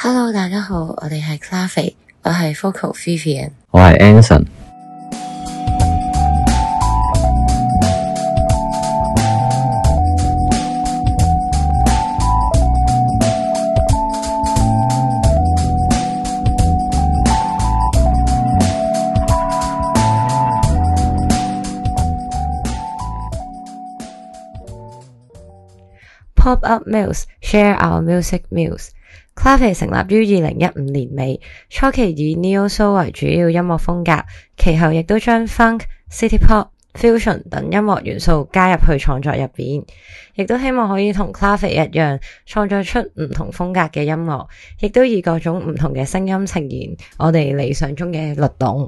Hello， 大家好，我哋係 Clave， 我係 Focal Vivian， 我係 Anson。 Pop Up Muse Share Our Music Muse。Clave 成立於2015年尾，初期以 Neo Soul 為主要音樂風格，其後亦都將 Funk、City Pop、Fusion 等音樂元素加入去創作入邊，亦都希望可以同 Clave 一樣，創作出唔同風格嘅音樂，亦都以各種唔同嘅聲音呈現我哋理想中嘅律動。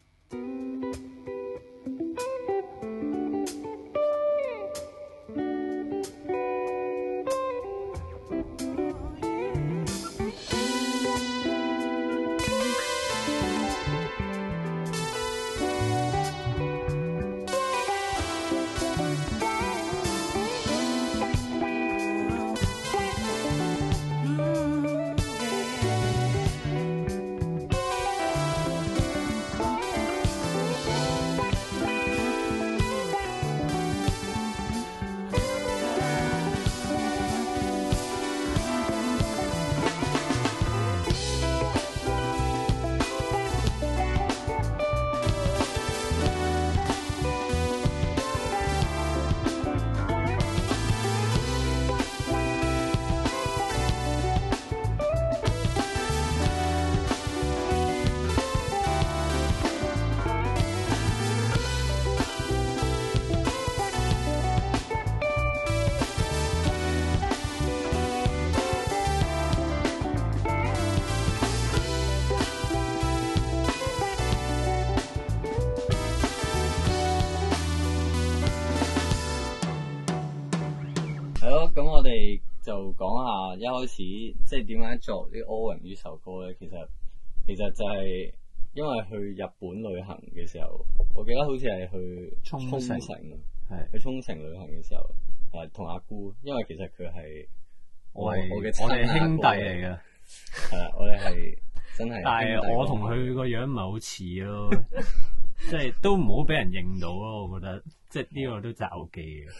係咯，咁我哋就講下一開始即係點解作呢 Orange 呢首歌咧？其實就係因為去日本旅行嘅時候，我記得好似係去沖繩，係去沖繩旅行嘅時候，同阿姑，因為其實佢係我哋兄弟嚟嘅， 係啦，我哋係真係， 但係我同佢個樣唔係好似咯，即係都唔好俾人認到咯，我覺得即係呢個都詐忌嘅。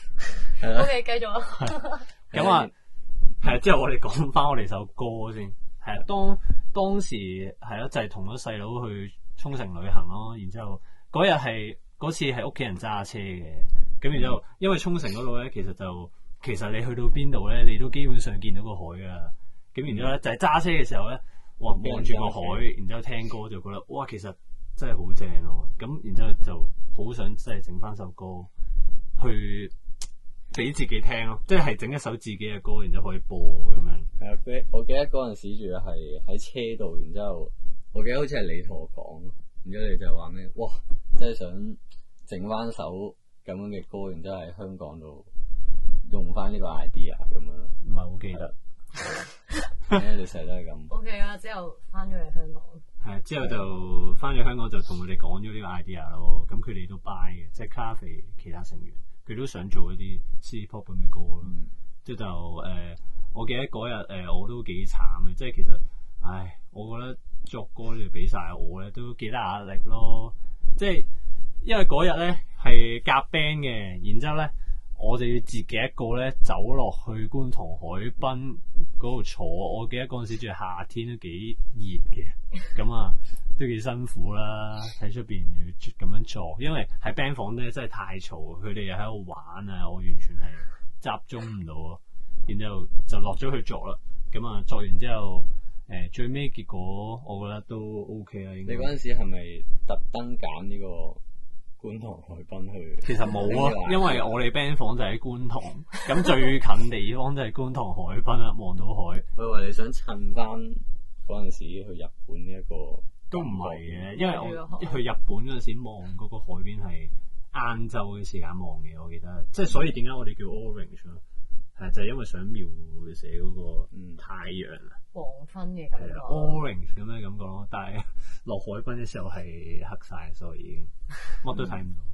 OK， 繼續啊。 咁啊，係之後我哋講翻我哋首歌先。係啊，當時係咯，就係同咗細佬去沖繩旅行咯。然之後嗰次係屋企人揸車嘅。咁然之後，因為沖繩嗰度咧，其實你去到邊度咧，你都基本上見到個海噶啦。咁然之後咧，就係揸車嘅時候咧，望住個海，然之後聽歌就覺得哇，其實真係好正咯。咁然之後就好想即係整翻首歌去俾自己聽咯，即係整一首自己嘅歌，然之後可以播咁樣。 係啊，我記得嗰陣時住係喺車度，然之後我記得好似係你同我講，然之後你就話咩？哇，真係想整翻首咁樣嘅歌，然之後喺香港度用翻呢個 idea 咁樣。 唔係好記得。 你成日都係咁。 OK 啊，之後翻咗嚟香港。 係之後就翻咗香港就同佢哋講咗呢個 idea 咯，咁佢哋都 buy 嘅，即係 Clave 其他成員。佢都想做一啲 City Pop 咁嘅歌咯，即係就我記得嗰日我都幾慘嘅，即係其實，我覺得作歌你俾晒我咧都幾大壓力咯，即係因為嗰日咧係夾 band 嘅，然之後咧我就要自己一個咧走落去觀塘海濱嗰度坐，我記得嗰陣時仲係夏天都幾熱嘅，咁啊都幾辛苦啦，喺出邊要咁樣作，因為喺 band 房咧真係太嘈，佢哋又喺度玩啊，我完全係集中唔到咯。然之後就落咗去作啦，咁啊作完之後，最尾結果我覺得都 OK 啦。應該你嗰陣時係咪特登揀呢個觀塘海濱去？ 其實冇啊，因為我哋 band 房就喺觀塘，咁最近地方就係觀塘海濱啦，望到海。 我以為你想趁翻嗰陣時去日本呢一個。 都唔係嘅，因為我去日本嗰陣時望嗰個海邊係晏晝嘅時間望嘅，我記得，即係所以點解我哋叫 Orange 咯，係就係因為想描寫嗰個太陽黃昏嘅感覺 ，Orange 咁嘅感覺咯，但係落海濱嘅時候係黑晒，所以已經乜都睇唔到。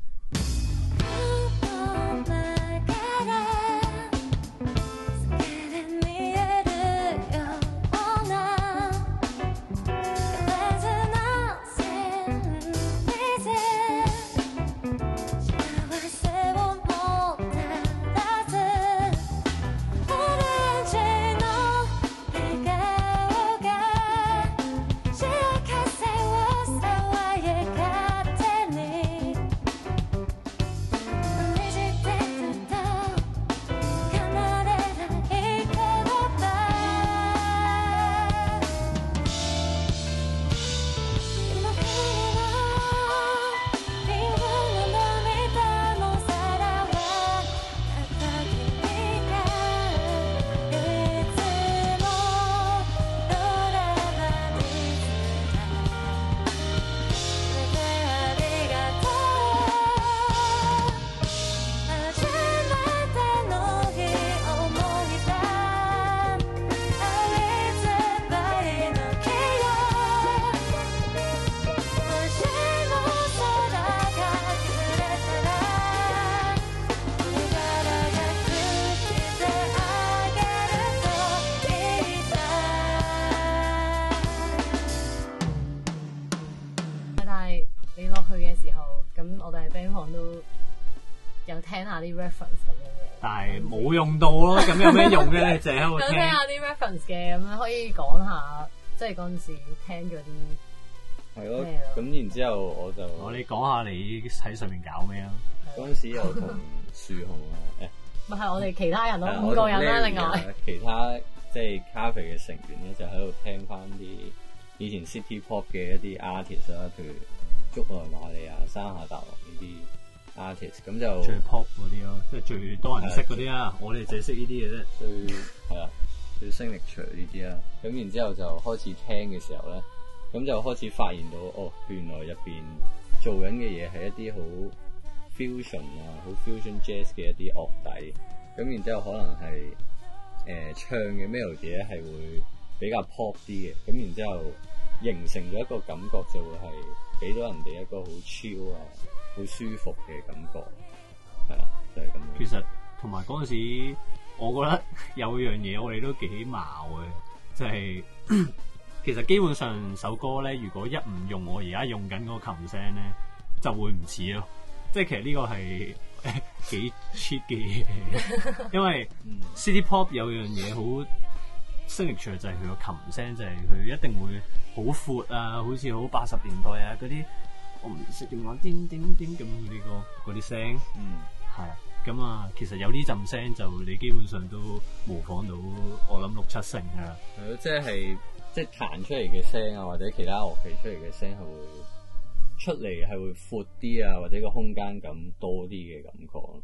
往都有聽下啲 reference 咁樣嘅， 但係冇用到咯，咁有咩用咧？淨係喺度有聽下啲 reference 嘅，咁樣可以講下，即係嗰陣時聽咗啲係咯咩咯。 咁然之後我哋講下你喺上面搞咩啊？ 嗰陣時有同樹熊啊， 咪係我哋其他人咯， 係啊 5個人啦， 我同另 Larry 啊外其他即係咖啡嘅成員咧，就喺度聽翻啲以前 City Pop 嘅一啲 artist 啦，譬如竹內瑪利亞、山下達郎呢啲 artist，咁就最 pop 嗰啲咯，即係最多人識嗰啲啊！我哋淨係識呢啲嘅啫。 最係啊，最聲力場呢啲啦。咁然之後就開始聽嘅時候咧，咁就開始發現到哦，原來入邊做緊嘅嘢係一啲好 fusion 啊，好 fusion jazz 嘅一啲樂底。咁然之後可能係唱嘅 melody 咧係會比較 pop 啲嘅。咁然之後形成咗一個感覺，就會係俾到人哋一個好 chill 啊，好舒服嘅感覺。係啊，就係咁樣。 其實同埋嗰陣時，我覺得有樣嘢我哋都幾矛嘅，就係、其實基本上首歌咧，如果一唔用我而家用緊嗰個琴聲咧，就會唔似咯。即係其實呢個係幾 cheap 嘅嘢，因為 City Pop 有樣嘢好signature就係佢個琴聲，就係佢一定會好闊啊，好似好80年代啊嗰啲，我唔識點講，叮叮叮咁嗰啲聲，係啊。咁啊，其實有呢陣聲就你基本上都模仿到，我諗6-7成㗎啦。 係咯，即係彈出嚟嘅聲啊，或者其他樂器出嚟嘅聲係會出嚟係會闊啲啊，或者個空間感多啲嘅感覺。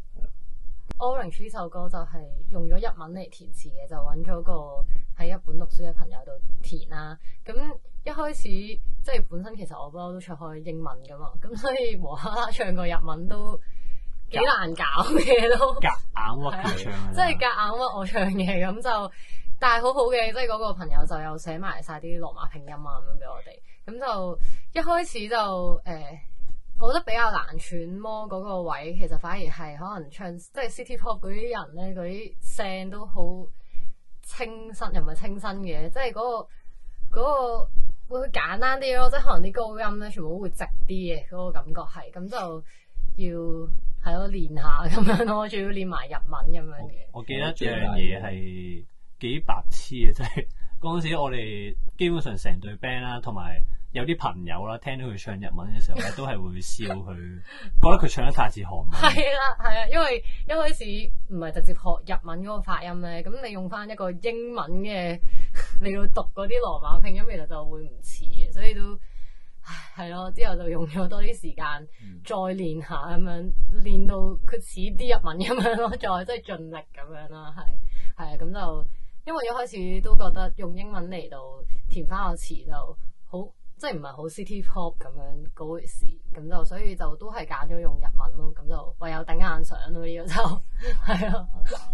Orange 呢首歌就係用咗日文嚟填詞嘅，就揾咗個喺日本讀書嘅朋友度填啦。咁一開始即係本身其實我不嬲都唱開英文噶嘛，咁所以無啦啦唱個日文都幾難搞嘅都。 夾硬屈佢唱啊！ 即係夾硬屈我唱嘅，咁就但係好好嘅，即係嗰個朋友就有寫埋晒啲羅馬拼音啊咁樣俾我哋。咁就一開始就我覺得比較難揣摩嗰個位，其實反而係可能唱即係 City Pop 嗰啲人咧，嗰啲聲都好清新，又唔係清新嘅，即係嗰個會簡單啲咯，即係可能啲高音咧全部都會直啲嘅，嗰個感覺係，咁就要係咯練下咁樣咯，仲要練埋日文咁樣嘅。 我記得有樣嘢係幾白痴嘅，即係嗰陣時我哋基本上成隊 band 啦，同埋有啲朋友啦，聽到佢唱日文嘅時候咧，都係會笑佢，覺得佢唱得太似韓文。 係啦，係啊，因為一開始唔係直接學日文嗰個發音咧，咁你用翻一個英文嘅嚟到讀嗰啲羅馬拼音，其實就會唔似嘅，所以都係咯。之後就用咗多啲時間再練下咁樣，練到佢似啲日文咁樣咯，再即係盡力咁樣啦，係啊，咁就因為一開始都覺得用英文嚟到填翻個詞就好。即係唔係好 City Pop 咁樣嗰回事，咁就所以就都係揀咗用日文咯，咁就唯有頂硬上咯，呢個就係咯。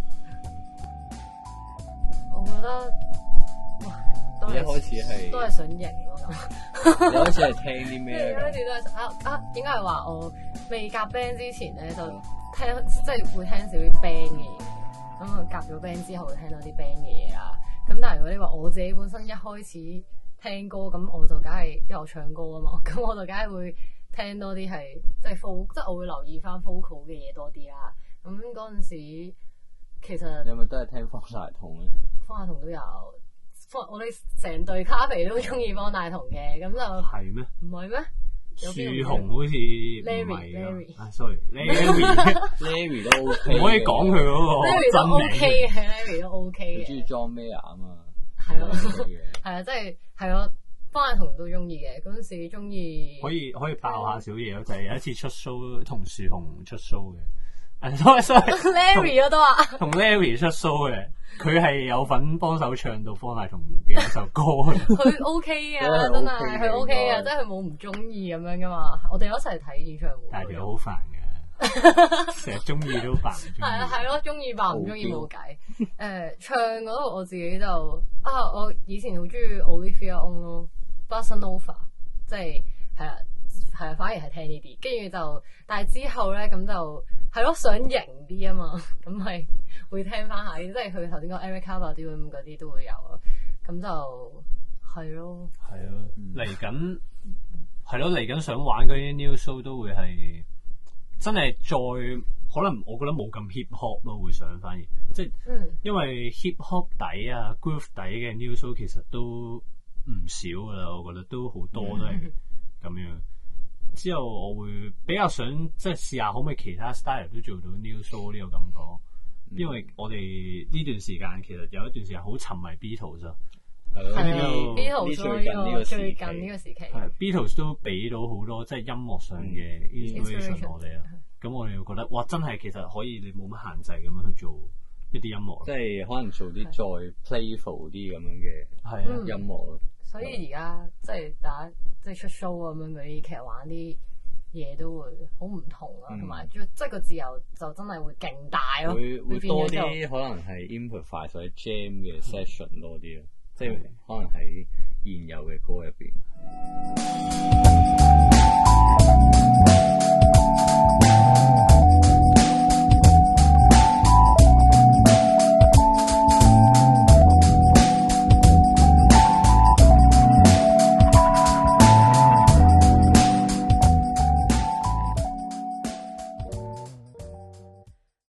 我覺得哇， 一開始係都係想贏咯咁。 一開始係聽啲咩咧？ 嗰時都係應該係話我未夾 band 之前咧，就聽即係會聽少啲 band 嘅嘢，咁啊夾咗 band 之後會聽到啲 band 嘅嘢啦。咁但係如果你話我自己本身一開始聽歌咁我就梗係因為我唱歌啊嘛，咁我就梗係會聽多啲係即係 folk，即係我會留意翻 vocal 嘅嘢多啲啦。咁嗰陣時其實你係咪都係聽方大同咧？ 方大同都有，我哋成隊咖啡都中意方大同嘅，咁就係咩？ 唔係咩？ 樹熊好似唔係啊，sorry，Larry 都 OK， 唔可以講佢嗰個 ，Larry 都 OK 嘅，Larry 都 OK 嘅。 中意 John Mayer 啊嘛， 係咯，係啊，即係係咯，方大同都中意嘅。嗰陣時中意可以爆下小嘢咯，就係有一次出 show 同樹熊出 show 嘅。sorry，Larry 嗰都話同 Larry 出 show 嘅，佢係有份幫手唱到方大同嘅一首歌。 佢 OK 啊，真係佢 OK 啊，即係佢冇唔中意咁樣噶嘛。我哋有一齊睇演唱會， 但係條好煩嘅，成日中意都煩。 係啊，係咯，中意扮唔中意冇計。唱嗰度我自己就我以前好中意 Olivia On 咯 ，Bossa Nova， 即係係啊，反而係聽呢啲。跟住就，但係之後咧咁就。係咯，想型啲啊嘛，咁咪會聽翻下，即係佢頭先講 Erica Badu 嗰啲都會有咯，咁就係咯。 係咯，嚟緊係咯，嚟緊想玩嗰啲 new show 都會係真係再可能我覺得冇咁 hip hop 咯，會想反而即係因為 hip hop 底啊 groove 底嘅 new soul 其實都唔少噶啦，我覺得都好多都係咁樣。之後我會比較想即係試下可唔可以其他 style 都做到 new soul 呢個感覺，因為我哋呢段時間其實有一段時間好沉迷 Beatles 啊。 Beatles 最近呢個時期 ，Beatles 都俾到好多即係音樂上嘅 inspiration 我哋啊。咁我哋會覺得哇，真係其實可以你冇乜限制咁樣去做一啲音樂， 即係可能做啲再 playful 啲咁樣嘅音樂咯。 所以而家即係大家即係出 show 咁樣嗰啲，其實玩啲嘢都會好唔同啊，同埋即係個自由就真係會勁大咯。 會多啲可能係 improvise 或者 jam 嘅 session 多啲咯，即係可能喺現有嘅歌入邊。